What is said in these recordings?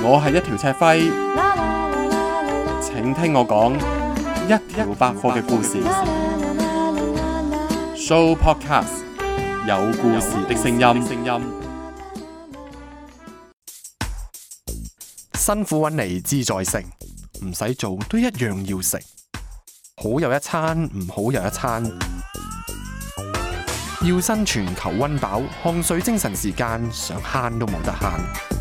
我係一條赤輝，請聽我講一條百貨嘅故事。Show Podcast 有故事的聲音。 辛苦揾嚟志在食，唔使做都一樣要食。好又一餐，唔好又一餐。要生存求溫飽，汗水精神時間，想慳都冇得慳。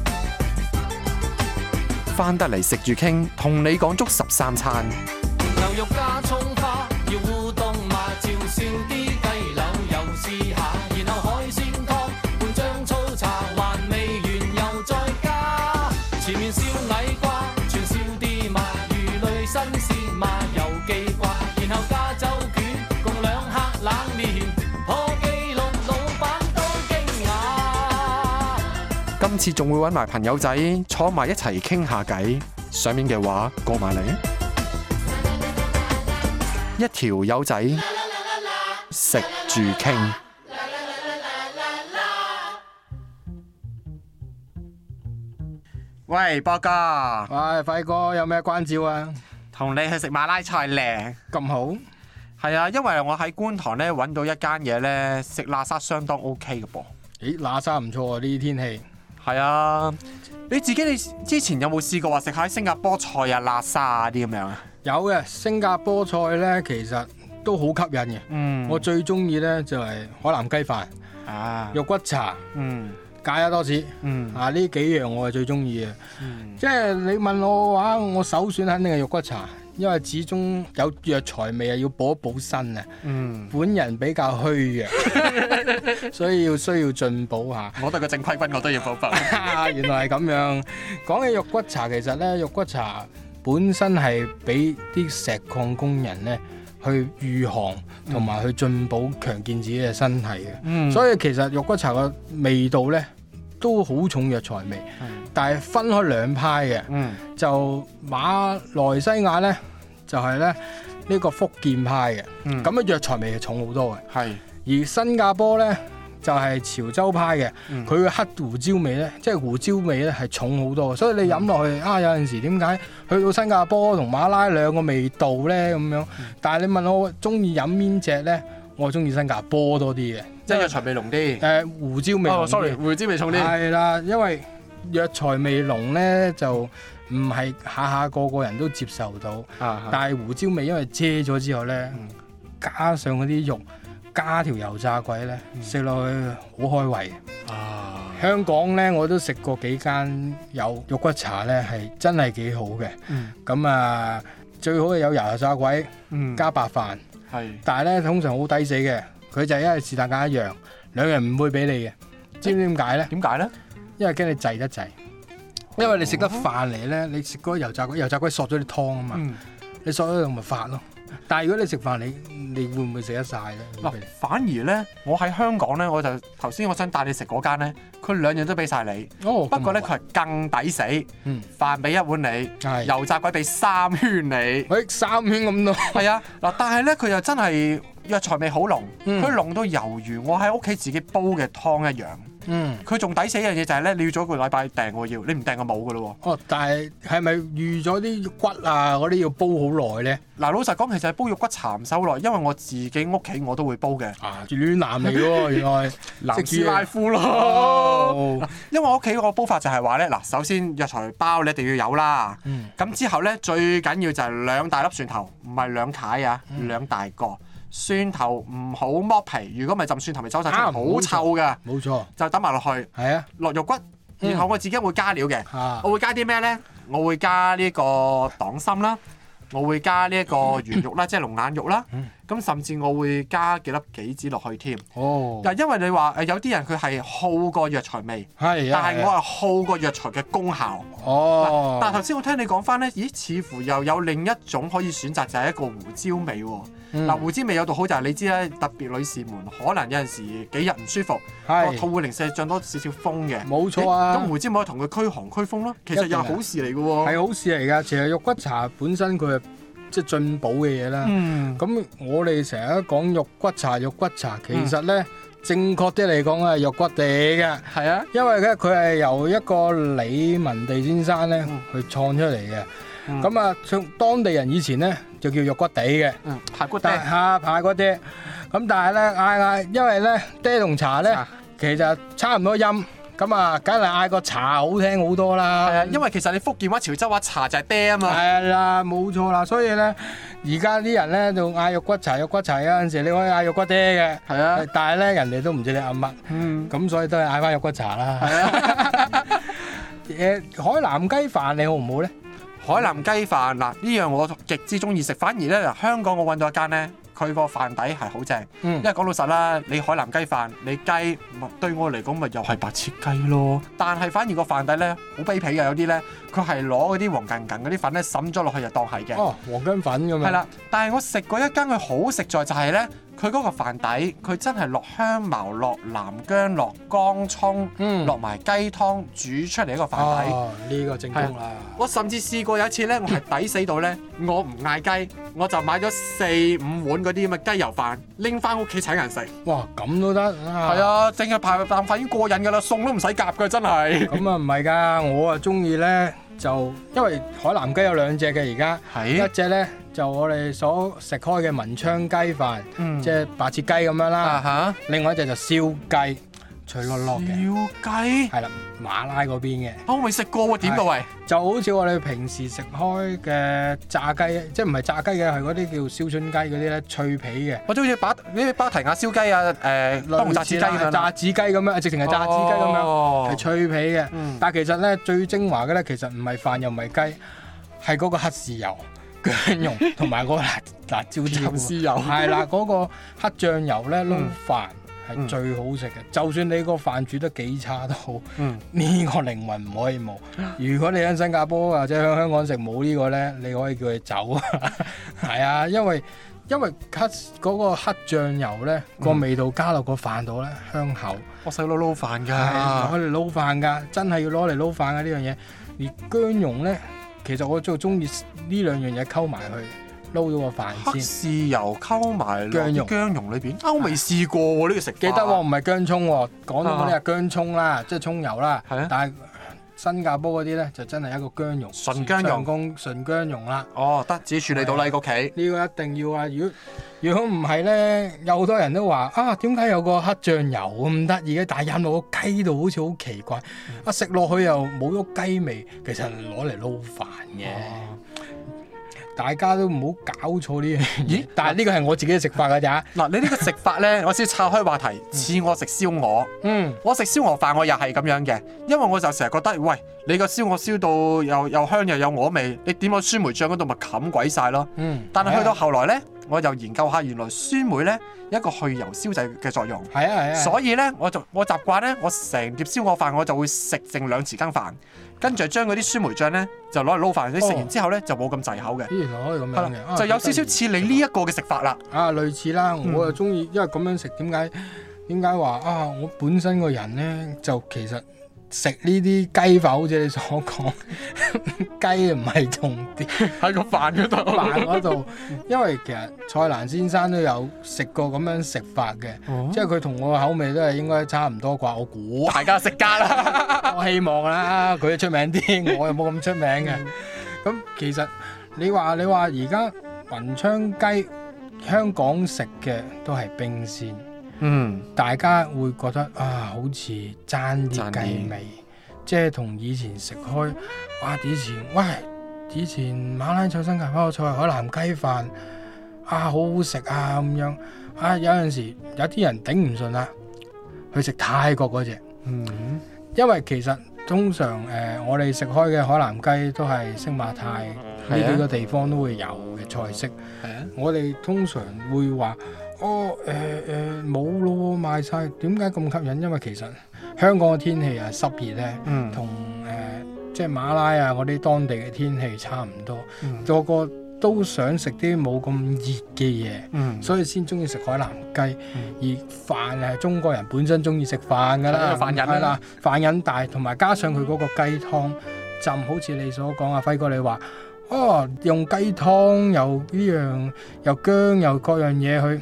返得嚟食住傾，同你講足13餐。 牛肉加葱花，要烏冬嘛，照燒啲雞柳又試下，然後海鮮湯半張粗茶，還未完又再加。前面燒矮瓜，串燒啲嘛，魚類新鮮嘛又記掛，然後加酒卷共2客冷麵，破紀錄老闆都驚訝。 今次仲會揾埋朋友仔坐埋一齊傾下偈，上面嘅話過埋嚟。一條友仔食住傾。 喂，波哥， 喂，輝哥有咩關照啊？ 同你去食馬拉菜咧。 咁好？ 係啊，因為我喺觀塘咧揾到一間嘢咧，食喇沙相當 OK 嘅噃。 咦，喇沙唔錯啊！呢啲天氣。 係啊，你之前有冇試過話食下新加坡菜啊、喇沙啊啲咁樣啊？ 有嘅，新加坡菜呢，其實都好吸引嘅。我最中意呢就係海南雞飯、肉骨茶、芥辣多士。呢幾樣我係最中意嘅。即係你問我嘅話，我首選肯定係肉骨茶，因為始終有藥材味啊，要補一補身啊。本人比較虛弱，所以需要進補下。 我對個正規軍我都要補補。 原來係咁樣。講起肉骨茶，其實呢，肉骨茶本身係俾啲石礦工人咧去御寒同埋去進補強健自己嘅身體嘅。所以其實肉骨茶個味道咧都好重藥材味，但係分開兩派嘅。就馬來西亞咧就係咧呢個福建派嘅，咁嘅藥材味係重好多嘅。而新加坡咧就係潮州派嘅，佢嘅黑胡椒味咧，即係胡椒味咧係重好多，所以你飲落去有陣時點解去到新加坡同馬拉兩個味道咧咁樣？但係你問我中意飲邊隻咧，我中意新加坡多啲嘅， 即係藥材味濃啲。 胡椒味濃啲。 sorry，胡椒味重啲。 係啦，因為藥材味濃咧就唔係下下個人都接受到，但係胡椒味因為遮咗之後咧，加上嗰啲肉。加條油炸鬼咧，食落去好開胃。香港咧我都食過幾間有肉骨茶咧，係真係幾好嘅。咁最好係有油炸鬼，加白飯。但係咧通常好抵死嘅，佢就係因為是但揀一樣，兩樣唔會俾你嘅。知唔知點解咧？ 點解咧？因為驚你滯得滯。因為你食得飯嚟咧，你食嗰個油炸鬼索咗啲湯啊嘛，你索咗咪發咯。但係如果你食飯，你會唔會食得晒咧？ 反而咧，我喺香港咧，我就頭先我想帶你食嗰間咧，佢兩樣都俾晒你。不過咧，佢係更抵死。飯俾1碗你，油炸鬼俾3圈你。 3圈咁多。係啊，嗱，但係咧，佢又真係藥材味好濃，佢濃到猶如我喺屋企自己煲嘅湯一樣。佢仲抵死一樣嘢就係咧，你要早1個禮拜訂喎，你唔訂就冇噶咯喎。 但係咪預咗啲骨啊嗰啲要煲好耐咧？ 嗱，老實講，其實煲肉骨茶唔使好耐，因為我自己屋企我都會煲嘅。 暖男嚟喎，原來南斯拉夫咯。因為我屋企個煲法就係話咧，嗱，首先藥材包你一定要有啦。咁之後咧，最緊要就係2大粒蒜頭，唔係2塊啊，2大個。蒜頭唔好剝皮，如果唔係浸蒜頭咪走晒出嚟，好臭㗎。冇錯，就抌埋落去。落肉骨，然後我自己會加料嘅。我會加啲咩咧？我會加呢個黨參啦，我會加呢一個圓肉啦，即係龍眼肉啦。咁甚至我會加幾粒杞子落去添。嗱，因為你話有啲人佢係好過藥材味，但係我係好過藥材嘅功效。但係頭先我聽你講翻咧，咦？似乎又有另一種可以選擇，就係一個胡椒味喎。胡椒味有度好就係你知啦，特別女士們可能有陣時幾日唔舒服，個肚會零舍漲多少少風嘅。冇錯啊。咁胡椒味可以同佢驅寒驅風咯，其實又係好事嚟嘅喎。係好事嚟㗎，其實肉骨茶本身佢係即係進補嘅嘢啦。咁我哋成日都講肉骨茶，其實咧正確啲嚟講係肉骨地嘅， 係啊， 因為咧佢係由一個李文地先生咧去創出嚟嘅。咁啊，當地人以前咧就叫肉骨地嘅， 排骨但係排骨爹。咁但係咧嗌，因為咧爹同茶咧其實差唔多音，咁啊，梗係嗌個茶好聽好多啦。 係啊，因為其實你福建話、潮州話茶就係爹啊嘛。 係啦，冇錯啦。所以咧，而家啲人咧就嗌肉骨茶，有陣時你可以嗌肉骨爹嘅。 係啊， 但係咧人哋都唔知你嗌乜。咁所以都係嗌翻肉骨茶啦。係啊。海南雞飯你好唔好咧？ 海南雞飯嗱呢樣我極之中意食，反而咧嗱香港我揾到一間咧，佢個飯底係好正。因為講老實啦，你海南雞飯你雞對我嚟講咪又係白切雞咯，但係反而個飯底咧好卑鄙嘅，有啲咧佢係攞嗰啲黃鵪鶉嗰啲粉咧滲咗落去就當係嘅。 哦，黃薑粉咁樣。 係啦，但係我食過一間佢好食在就係咧，佢嗰個飯底佢真係落香茅、落南薑、落乾葱、落埋雞湯煮出嚟一個飯底。 哦，呢個正宗啦。 我甚至試過有一次咧，我係抵死到咧，我唔嗌雞，我就買咗4-5碗嗰啲咁嘅雞油飯，拎翻屋企請人食。 哇，咁都得啊！ 係啊，淨係排啖飯已經過癮㗎啦，餸都唔使夾㗎，真係。 咁啊唔係㗎，我啊中意咧就因為海南雞有2隻嘅而家，一隻咧就我哋所食開嘅文昌雞飯，即係白切雞咁樣啦。另外一隻就燒雞，脆落落嘅。 燒雞係啦，馬拉嗰邊嘅。 我未食過喎，點到喂？ 就好似我哋平時食開嘅炸雞，即係唔係炸雞嘅，係嗰啲叫燒春雞嗰啲咧，脆皮嘅。 我都好似巴提亞燒雞啊，當紅炸子雞咁樣。 炸子雞咁樣，直情係炸子雞咁樣，係脆皮嘅。但係其實咧最精華嘅咧，其實唔係飯又唔係雞，係嗰個黑豉油、薑蓉同埋嗰個辣椒豉油。係啦，嗰個黑醬油咧撈飯係最好食嘅。就算你個飯煮得幾差都好，呢個靈魂唔可以冇。如果你喺新加坡或者喺香港食冇呢個咧，你可以叫佢走啊。係啊，因為嗰個黑醬油咧個味道加落個飯度咧香口。 我細佬撈飯㗎， 攞嚟撈飯㗎，真係要攞嚟撈飯㗎呢樣嘢。而薑蓉咧，其實我最中意呢兩樣嘢溝埋去撈咗個飯先。 黑豉油溝埋薑蓉裏邊，我未試過喎呢個食法。 記得喎，唔係薑葱喎，廣東嗰啲係薑葱啦，即係葱油啦。 係啊。 但係新加坡嗰啲咧就真係一個薑蓉， 純薑蓉， 純薑蓉啦。 哦，得自己處理到啦，喺屋企。 呢個一定要啊！如果唔係咧，有好多人都話啊，點解有個黑醬油咁得意嘅？但係飲落個雞度好似好奇怪，食落去又冇咗雞味，其實攞嚟撈飯嘅。大家都唔好搞錯呢樣嘢。咦？但係呢個係我自己嘅食法㗎咋。 嗱，你呢個食法咧，我先岔開話題，似我食燒鵝。我食燒鵝飯我又係咁樣嘅，因為我就成日覺得，喂，你個燒鵝燒到又香又有鵝味，你點個酸梅醬嗰度咪冚鬼晒咯。但係去到後來咧，我又研究下原來酸梅咧有一個去油消滯嘅作用。係啊。所以咧，我習慣咧，我成碟燒鵝飯我就會食剩2匙羹飯。跟住將嗰啲酸梅醬咧，就攞嚟撈飯。你食完之後咧，就冇咁滯口嘅。 原來可以咁樣嘅， 就有少少似你呢一個嘅食法啦。 類似啦，我又中意，因為咁樣食點解話啊？我本身個人咧就其實食呢啲雞飯，好似你所講，雞唔係重點喺個飯嗰度。 飯嗰度，因為其實蔡瀾先生都有食過咁樣食法嘅，即係佢同我嘅口味都係應該差唔多啩，我估。 大家食家啦， 我希望啦，佢出名啲，我又冇咁出名嘅。咁其實你話而家文昌雞香港食嘅都係冰鮮。大家會覺得啊，好似爭啲雞味，即係同以前食開，哇！以前馬拉菜、新加坡菜、海南雞飯啊，好好食啊咁樣啊！有陣時有啲人頂唔順啦，去食泰國嗰隻，因為其實通常我哋食開嘅海南雞都係星馬泰呢幾個地方都會有嘅菜式。我哋通常會話。冇咯，賣晒。點解咁吸引？因為其實香港嘅天氣啊濕熱咧，同即係馬拉啊嗰啲當地嘅天氣差唔多，個個都想食啲冇咁熱嘅嘢，所以先中意食海南雞。而飯係中國人本身中意食飯㗎啦，飯癮啦，飯癮大，同埋加上佢嗰個雞湯浸，好似你所講啊，輝哥你話用雞湯又呢樣又薑又各樣嘢去。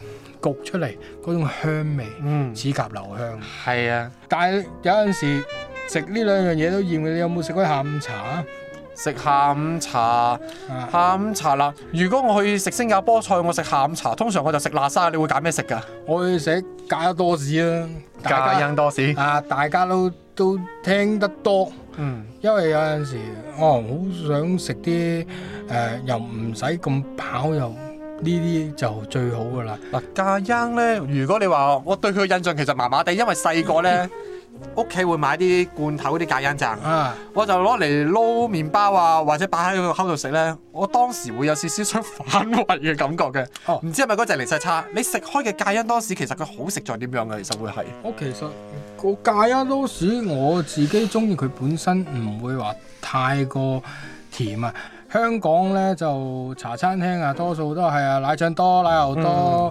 焗出嚟嗰種香味， 嗯， 齒頰留香。 係啊， 但係有陣時食呢兩樣嘢都厭嘅，你有冇食過下午茶啊？ 食下午茶，下午茶啦。如果我去食新加坡菜，我食下午茶，通常我就食辣沙。你會揀咩食㗎？ 我去食加多士啦， 加恩多士。 大家都聽得多，因為有陣時好想食啲又唔使咁飽，又呢啲就最好㗎啦。 嗱，加恩咧，如果你話我對佢嘅印象其實麻麻地，因為細個咧屋企會買啲罐頭嗰啲加恩醬，我就攞嚟撈麵包啊，或者擺喺個口度食咧，我當時會有少少想反胃嘅感覺嘅。唔知係咪嗰隻零食差？你食開嘅加恩多士其實佢好食在點樣嘅？其實會係我其實個加恩多士我自己中意佢本身唔會話太過甜啊。香港咧就茶餐廳啊，多數都係奶醬多、奶油多，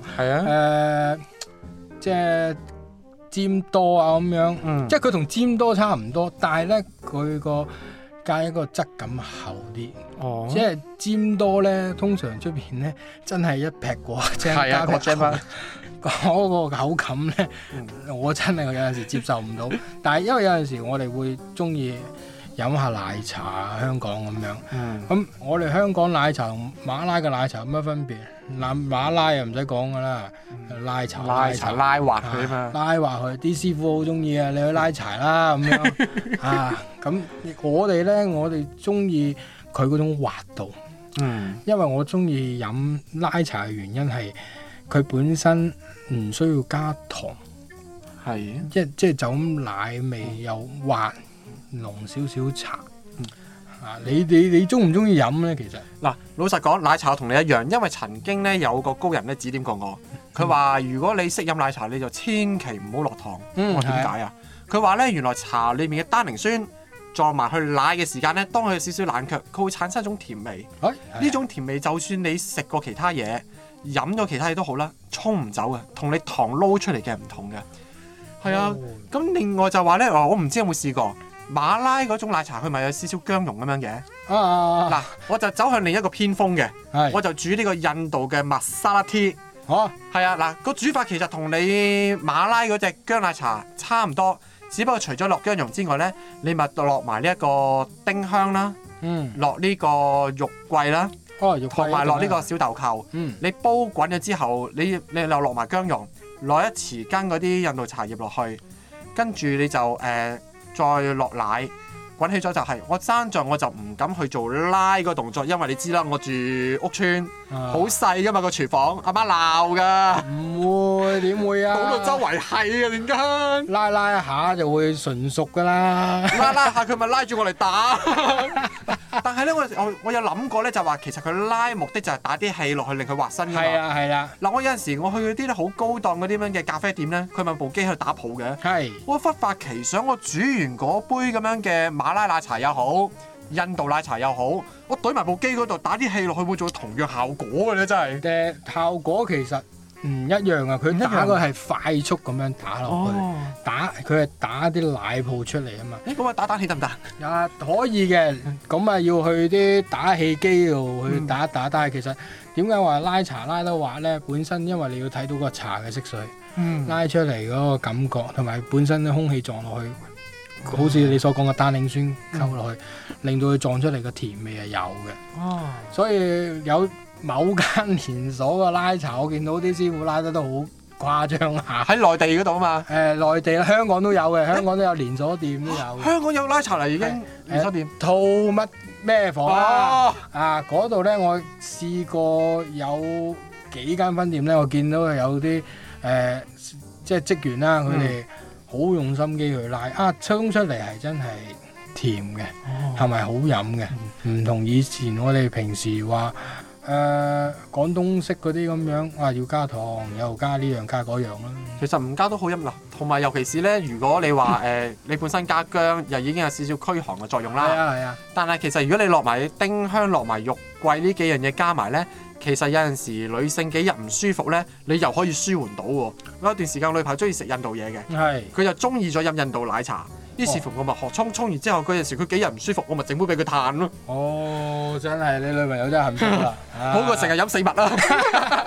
即係尖多啊咁樣，即係佢同尖多差唔多，但係咧佢個加一個質感厚啲，即係尖多咧，通常出邊咧真係一劈過，即係加個 jam 嗰個口感咧，我真係有陣時接受唔到。但係因為有陣時我哋會中意飲下奶茶，香港咁樣。咁我哋香港奶茶同馬拉嘅奶茶有乜分別？馬拉又唔使講噶啦，拉茶拉滑佢啊嘛， 拉滑佢啲師傅好中意啊！你去拉柴啦咁樣啊！咁我哋中意佢嗰種滑度，因為我中意飲拉茶嘅原因係佢本身唔需要加糖，即係就咁奶味又滑。濃少少茶，你中唔中意飲咧？其實嗱，老實講，奶茶我同你一樣，因為曾經咧有個高人咧指點過我，佢話如果你識飲奶茶，你就千祈唔好落糖。我點解啊？佢話咧原來茶裏面嘅單寧酸撞埋去奶嘅時間咧，當佢有少少冷卻，佢會產生一種甜味。呢種甜味就算你食過其他嘢、飲咗其他嘢都好啦，沖唔走嘅，同你糖撈出嚟嘅唔同嘅。係啊，咁另外就話咧，我唔知有冇試過。馬拉嗰種奶茶佢咪有少少薑蓉咁樣嘅，嗱我就走向另一個偏鋒嘅，我就煮呢個印度嘅麥沙拉 tea，係啊，嗱個煮法其實同你馬拉嗰隻薑奶茶差唔多，只不過除咗落薑蓉之外咧，你咪落埋呢一個丁香啦，落呢個肉桂啦，同埋落呢個小豆蔻，你煲滾咗之後，你又落埋薑蓉，落一匙羹嗰啲印度茶葉落去，跟住你就再落奶，滾起咗就係、我爭在我就唔敢去做拉個動作，因為你知啦，我住屋村，好細噶嘛個廚房，阿媽鬧噶。 唔會點會啊？ 倒到周圍係啊，點解？ 拉一下就會純熟噶啦。 拉下佢咪拉住我嚟打。但係咧，我有諗過咧，就話其實佢拉目的就係打啲氣落去令佢滑身㗎嘛。係啦。嗱，我有陣時我去嗰啲咧好高檔嗰啲咁嘅咖啡店咧，佢咪部機喺度打泡嘅。我忽發奇想，我煮完嗰杯咁樣嘅馬拉奶茶又好，印度奶茶又好，我懟埋部機嗰度打啲氣落去，會做同樣效果嘅咧，真係。 效果其實唔一樣啊！佢打個係快速咁樣打落去，佢係打啲奶泡出嚟啊嘛。 咁啊打蛋器得唔得？ 可以嘅，咁啊要去啲打氣機度去打一打。但係其實點解話拉茶拉得滑咧？本身因為你要睇到個茶嘅色水，拉出嚟嗰個感覺，同埋本身啲空氣撞落去，好似你所講嘅單寧酸溝落去，令到佢撞出嚟嘅甜味係有嘅。所以有某間連鎖嘅拉茶，我見到啲師傅拉得都好誇張下。喺內地嗰度啊嘛。 內地香港都有嘅，香港都有連鎖店都有。 香港有拉茶嚟已經連鎖店。 套乜咩房嗰度咧，我試過有幾間分店咧，我見到有啲即係職員啦，佢哋好用心機去拉沖出嚟係真係甜嘅，係咪好飲嘅？唔同以前我哋平時話廣東式嗰啲咁樣，要加糖，又加呢樣加嗰樣啦。 其實唔加都好飲啦，同埋尤其是咧，如果你話你本身加薑，又已經有少少驅寒嘅作用啦。 係啊。但係其實如果你落埋丁香、落埋肉桂呢幾樣嘢加埋咧，其實有陣時女性幾日唔舒服咧，你又可以舒緩到喎。有一段時間女朋友中意食印度嘢嘅，佢就中意咗飲印度奶茶。於是乎我咪學沖完之後，嗰陣時佢幾日唔舒服，我咪整杯俾佢嘆咯。 真係你女朋友真係幸福啦， 好過成日飲死物啦。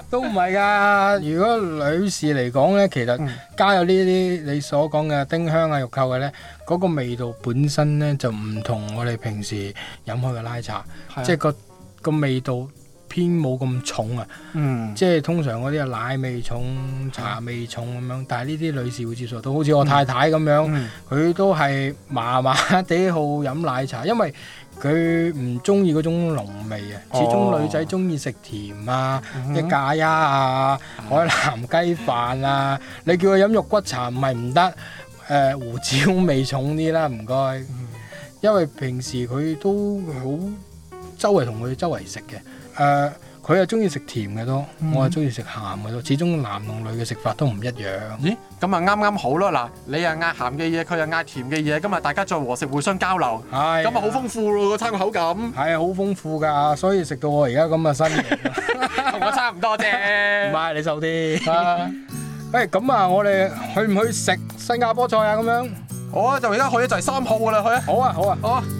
都唔係㗎。如果女士嚟講咧，其實加有呢啲你所講嘅丁香啊、玉蔻嘅咧，嗰個味道本身咧就唔同我哋平時飲開嘅拉茶，即係個味道偏冇咁重啊。即係通常嗰啲奶味重、茶味重咁樣，但係呢啲女士會接受到。好似我太太咁樣，佢都係麻麻地好飲奶茶，因為佢唔中意嗰種濃味啊。始終女仔中意食甜啊，啲咖椰啊、海南雞飯啊。你叫佢飲肉骨茶唔係唔得，胡椒味重啲啦，唔該。因為平時佢都好周圍同佢周圍食嘅。佢係中意食甜嘅多，我係中意食鹹嘅多。始終男同女嘅食法都唔一樣。 咦？咁啊啱啱好咯！嗱，你又嗌鹹嘅嘢，佢又嗌甜嘅嘢，咁啊大家再和食互相交流，咁啊好豐富咯個餐嘅口感。 係啊，好豐富㗎，所以食到我而家咁嘅身形， 同我差唔多啫。 唔係你瘦啲。咁啊，我哋去唔去食新加坡菜啊？咁樣， 我就而家去咗就係3號㗎啦，去啊！ 好啊，好啊， 好啊！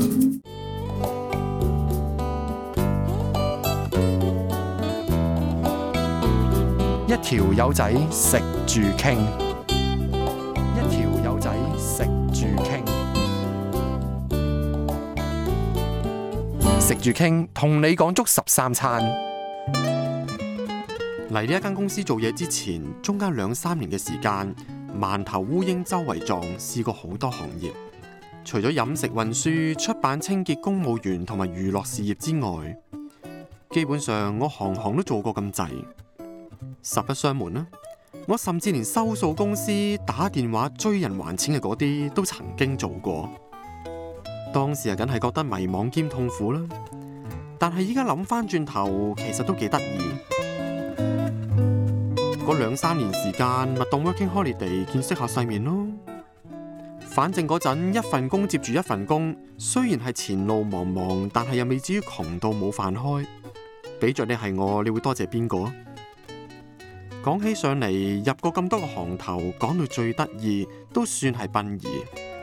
一條友仔食住傾，一條友仔食住傾，食住傾同你講足13餐。嚟呢一間公司做嘢之前，中間2-3年嘅時間，饅頭烏蠅周圍撞，試過好多行業。除咗飲食運輸、出版、清潔、公務員同埋娛樂事業之外，基本上我行行都做過咁滯。實不相瞞啦，我甚至連收數公司、打電話追人還錢嘅嗰啲都曾經做過。當時啊，梗係覺得迷惘兼痛苦啦。但係依家諗翻轉頭，其實都幾得意。嗰2-3年時間，咪當 working holiday 見識下世面咯。反正嗰陣一份工接住一份工，雖然係前路茫茫，但係又未至於窮到冇飯開。俾着你係我，你會多謝邊個啊？講起上嚟，入過咁多個行頭，講到最得意都算係殯儀。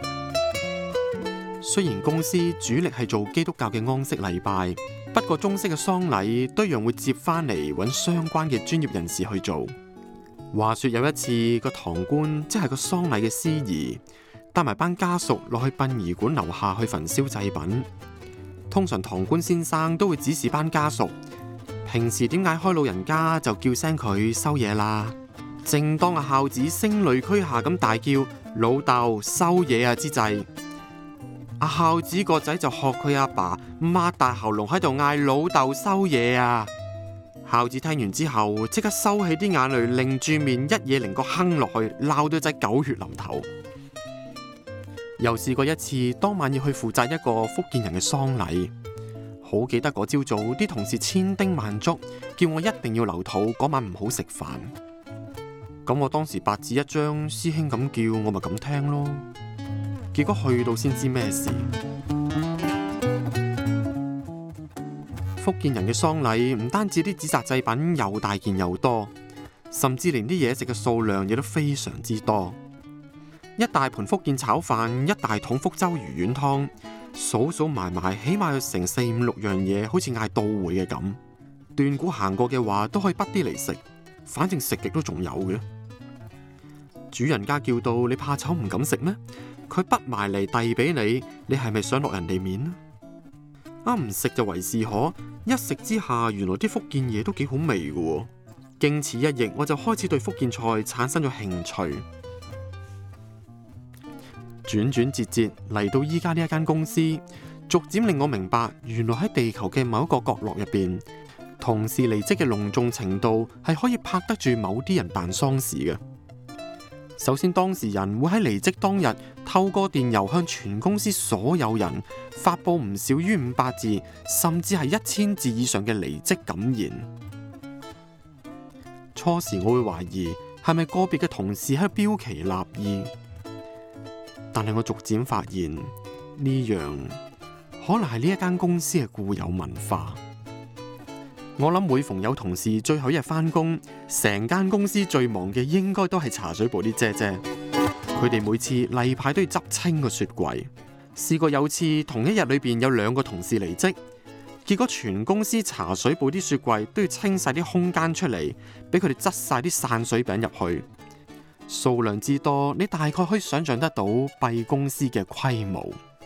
雖然公司主力係做基督教嘅安息禮拜，不過中式嘅喪禮都一樣會接翻嚟揾相關嘅專業人士去做。話說有一次，個堂官即係個喪禮嘅司儀，帶埋班家屬落去殯儀館樓下去焚燒祭品。通常堂官先生都會指示班家屬，平時點嗌開老人家就叫聲佢收嘢啦。正當阿孝子聲淚俱下咁大叫老豆收嘢啊之際，阿孝子個仔就學佢阿爸擘大喉嚨喺度嗌老豆收嘢啊。孝子聽完之後即刻收起啲眼淚，擰住面一嘢擰個哼落去，鬧到仔狗血淋頭。又試過一次，當晚要去負責一個福建人嘅喪禮。好記得嗰朝早，啲同事千叮萬囑，叫我一定要留肚，嗰晚唔好食飯。咁我當時白紙一張，師兄咁叫，我咪咁聽咯。結果去到先知咩事。福建人嘅喪禮唔單止啲紙紮祭品又大件又多，甚至連啲嘢食嘅數量亦都非常之多。一大盤福建炒飯，一大桶福州魚丸湯。數數埋埋，起碼有成4、5、6樣嘢，好似嗌到會嘅咁。斷估行過嘅話，都可以滗啲嚟食，反正食極都仲有嘅。主人家叫到你怕醜唔敢食咩？佢滗埋嚟遞俾你，你係咪想落人哋面啊？唔食就為是可，一食之下，原來啲福建嘢都幾好味嘅。經此一役，我就開始對福建菜產生咗興趣。轉轉折折嚟到依家呢一間公司，逐漸令我明白，原來喺地球嘅某一個角落入邊，同事離職嘅隆重程度係可以拍得住某啲人辦喪事嘅。首先，當事人會喺離職當日透過電郵向全公司所有人發佈唔少於500字，甚至係1000字以上嘅離職感言。初時我會懷疑係咪個別嘅同事喺度標奇立異。但係我逐漸發現呢樣可能係呢一間公司嘅固有文化。我諗每逢有同事最後一日返工，成間公司最忙嘅應該都係茶水部啲姐姐。佢哋每次例牌都要執清個雪櫃。試過有次同一日裏邊有2個同事離職， 結果全公司茶水部啲雪櫃都要清晒啲空間出嚟，俾佢哋擠晒啲散水餅入去。數量之多，你大概可以想象得到敝公司嘅規模。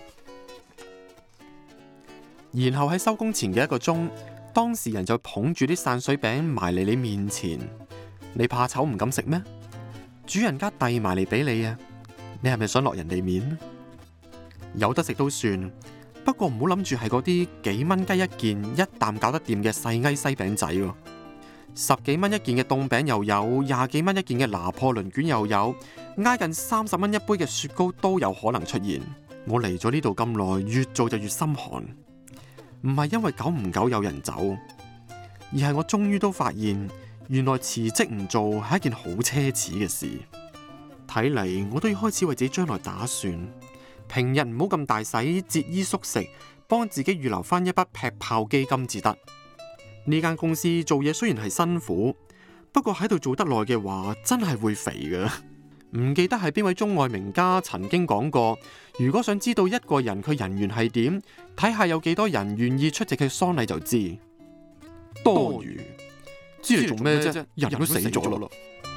然後喺收工前嘅1個鐘，當事人就捧住啲散水餅埋嚟你面前，你怕醜唔敢食咩？主人家遞埋嚟俾你啊，你係咪想落人哋面？有得食都算，不過唔好諗住係嗰啲幾蚊雞一件，一啖搞得掂嘅細埃西餅仔喎。10幾蚊一件嘅凍餅又有，20幾蚊一件嘅拿破崙卷又有，挨近30蚊一杯嘅雪糕都有可能出現。我嚟咗呢度咁耐，越做就越心寒。唔係因為久唔久有人走，而係我終於都發現，原來辭職唔做係一件好奢侈嘅事。睇嚟我都要開始為自己將來打算，平日唔好咁大使，節衣縮食，幫自己預留翻一筆劈炮基金至得。呢間公司做嘢雖然係辛苦，不過喺度做得耐嘅話，真係會肥㗎。唔記得係邊位中外名家曾經講過，如果想知道一個人佢人緣係點，睇下有幾多人願意出席佢喪禮就知。多餘，知嚟做咩啫？人都死咗咯。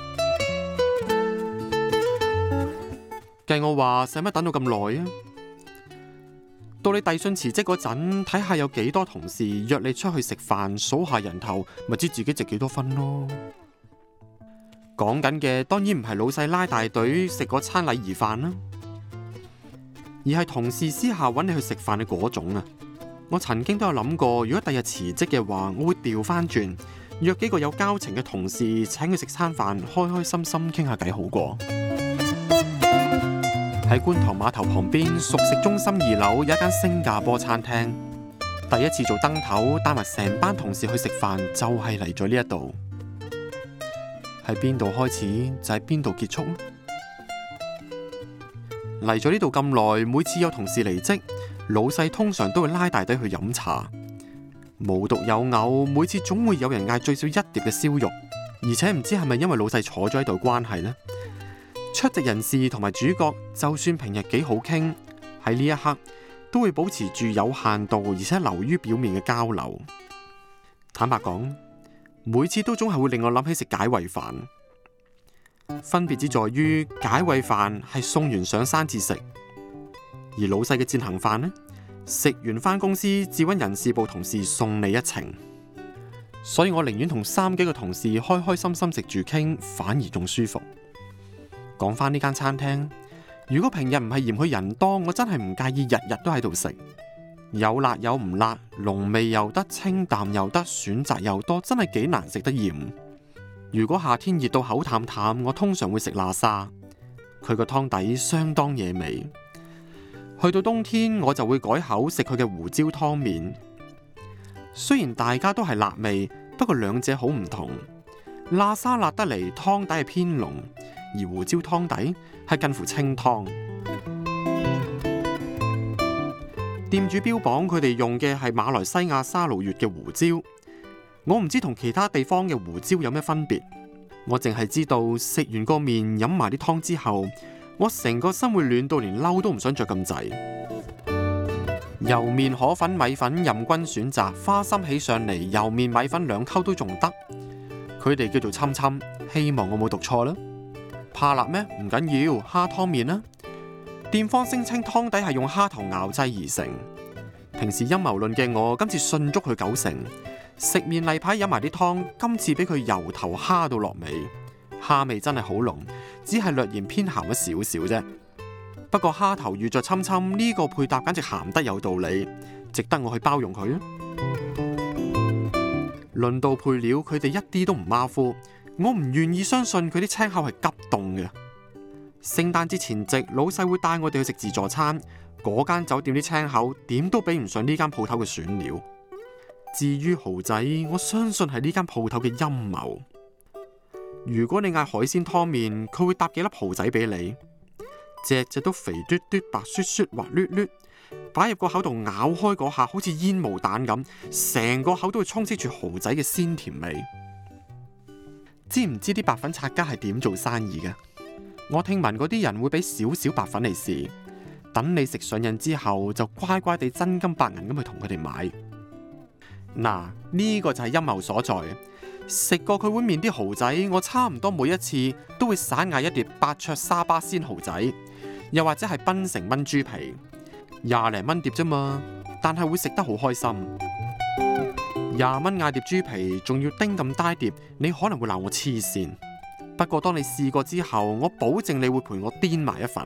計我話使乜等到咁耐啊？到你遞信辭職嗰陣，睇下有幾多同事約你出去食飯，數下人頭，咪知自己值幾多分咯。講緊嘅當然唔係老細拉大隊食嗰餐禮儀飯啦，而係同事私下揾你去食飯嘅嗰種啊。我曾經都有諗過，如果第日辭職嘅話，我會調翻轉約幾個有交情嘅同事請佢食餐飯，開開心心傾下偈好過。喺觀塘碼頭旁邊熟食中心2樓有一間新加坡餐廳，第一次做燈頭帶埋成班同事去食飯，就係嚟咗呢一度。喺邊度開始就喺邊度結束。嚟咗呢度咁耐，每次有同事離職，老細通常都會拉大隊去飲茶。無獨有偶，每次總會有人嗌最少1碟嘅燒肉，而且唔知係咪因為老細坐咗喺度關係呢？出席人士同埋主角，就算平日幾好傾，喺呢一刻都會保持住有限度而且流於表面嘅交流。坦白講，每次都總係會令我諗起食解穢飯，分別之在於解穢飯係送完上山至食，而老細嘅餞行飯呢，食完返公司至搵人事部同事送你一程。所以我寧願同3幾個同事開開心心食住傾，反而仲舒服。講返呢間餐廳，如果平日唔係嫌佢人多，我真係唔介意日日都喺度食。有辣有唔辣，濃味又得，清淡又得，選擇又多，真係幾難食得厭。如果夏天熱到口淡淡，我通常會食喇沙，佢個湯底相當惹味。去到冬天，我就會改口食佢嘅胡椒湯麵。雖然大家都係辣味，不過兩者好唔同。喇沙辣得嚟，湯底係偏濃，而胡椒湯底係近乎清湯。店主標榜佢哋用嘅係馬來西亞沙勞越嘅胡椒，我唔知同其他地方嘅胡椒有咩分別。我淨係知道食完個麵飲埋啲湯之後，我成個心會暖到連褸都唔想着咁滯。油麵、河粉、米粉任君選擇，花心起上嚟，油麵米粉2溝都仲得。佢哋叫做侵侵，希望我冇讀錯啦。怕辣咩？唔緊要，蝦湯麵啦。店方聲稱湯底係用蝦頭熬製而成。平時陰謀論嘅我，今次信足佢9成。食麵例牌飲埋啲湯，今次俾佢由頭蝦到落尾，蝦味真係好濃，只係略嫌偏鹹咗少少啫。不過蝦頭遇着侵侵呢個配搭簡直鹹得有道理，值得我去包容佢啊！論到配料，佢哋一啲都唔馬虎，我唔願意相信佢啲青口係急凍嘅。聖誕節前夕，老細會帶我哋去食自助餐，嗰間酒店啲青口點都比唔上呢間鋪頭嘅選料。至於蠔仔，我相信係呢間鋪頭嘅陰謀。如果你嗌海鮮湯麵，佢會搭幾粒蠔仔俾你，隻隻都肥嘟嘟、白雪雪、滑捋捋，擺入個口度咬開嗰下，好似煙霧彈咁，成個口都會充斥住蠔仔嘅鮮甜味。知唔知啲白粉拆家係點做生意嘅？我聽聞嗰啲人會俾少少白粉嚟試，等你食上癮之後，就乖乖地真金白銀咁去同佢哋買。 嗱，呢個就係陰謀所在。食過佢碗麵啲蠔仔，我差唔多每一次都會散嗌一碟百灼沙巴鮮蠔仔，又或者係檳城炆豬皮，20零蚊碟啫嘛，但係會食得好開心。20蚊嗌碟豬皮，仲要叮咁大碟，你可能會鬧我黐線。不過當你試過之後，我保證你會陪我癲埋一份。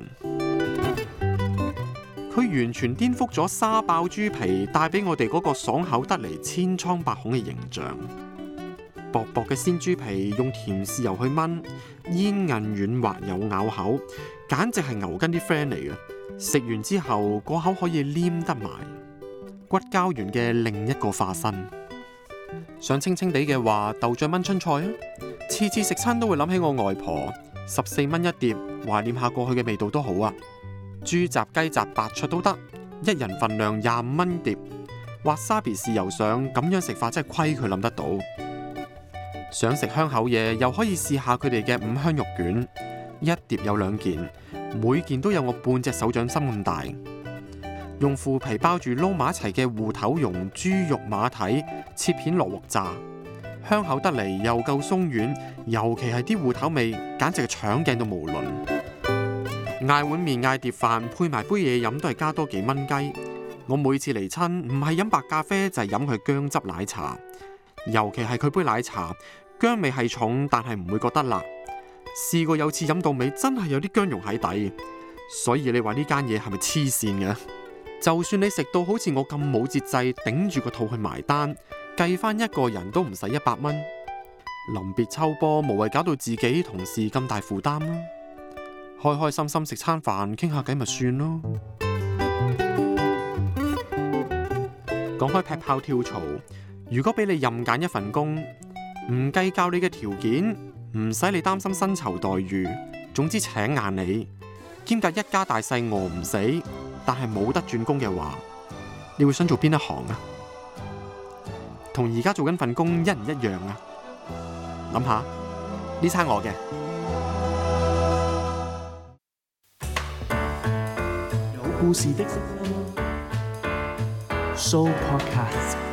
佢完全顛覆咗沙爆豬皮帶俾我哋嗰個爽口得嚟千瘡百孔嘅形象。薄薄嘅鮮豬皮用甜豉油去炆，煙韌軟滑有咬口，簡直係牛筋啲 friend 嚟嘅。食完之後個口可以黏得埋，骨膠原嘅另一個化身。想清清地嘅話，豆醬炆春菜啊！次次食餐都會諗起我外婆，14蚊一碟，懷念下過去嘅味道都好啊！豬雜雞雜白灼都得，一人份量25蚊碟，滑沙比豉油上，咁樣食法真係虧佢諗得到。想食香口嘢，又可以試下佢哋嘅五香肉卷，一碟有2件，每件都有我半隻手掌心咁大。用腐皮包住撈埋一齊嘅芋頭蓉、豬肉馬蹄，切片落鑊炸，香口得嚟又夠鬆軟，尤其係啲芋頭味，簡直係搶鏡到無倫。嗌碗麵嗌碟飯，配埋杯嘢飲都係加多幾蚊雞。我每次嚟親，唔係飲白咖啡就係飲佢薑汁奶茶，尤其係佢杯奶茶，薑味係重，但係唔會覺得辣。試過有次飲到尾，真係有啲薑蓉喺底，所以你話呢間嘢係咪黐線嘅？就算你食到好似我咁冇節制，頂住個肚去埋單，計翻一個人都唔使100蚊。臨別秋波，無謂搞到自己同事咁大負擔啦。開開心心食餐飯，傾下偈咪算咯。講開劈炮跳槽，如果俾你任揀一份工，唔計較你嘅條件，唔使你擔心薪酬待遇，總之請硬你，兼夾一家大細餓唔死，但係冇得轉工嘅話，你會想做邊一行啊？同而家做緊份工一唔一樣啊？諗下呢餐我嘅。 有故事的 Show Podcast。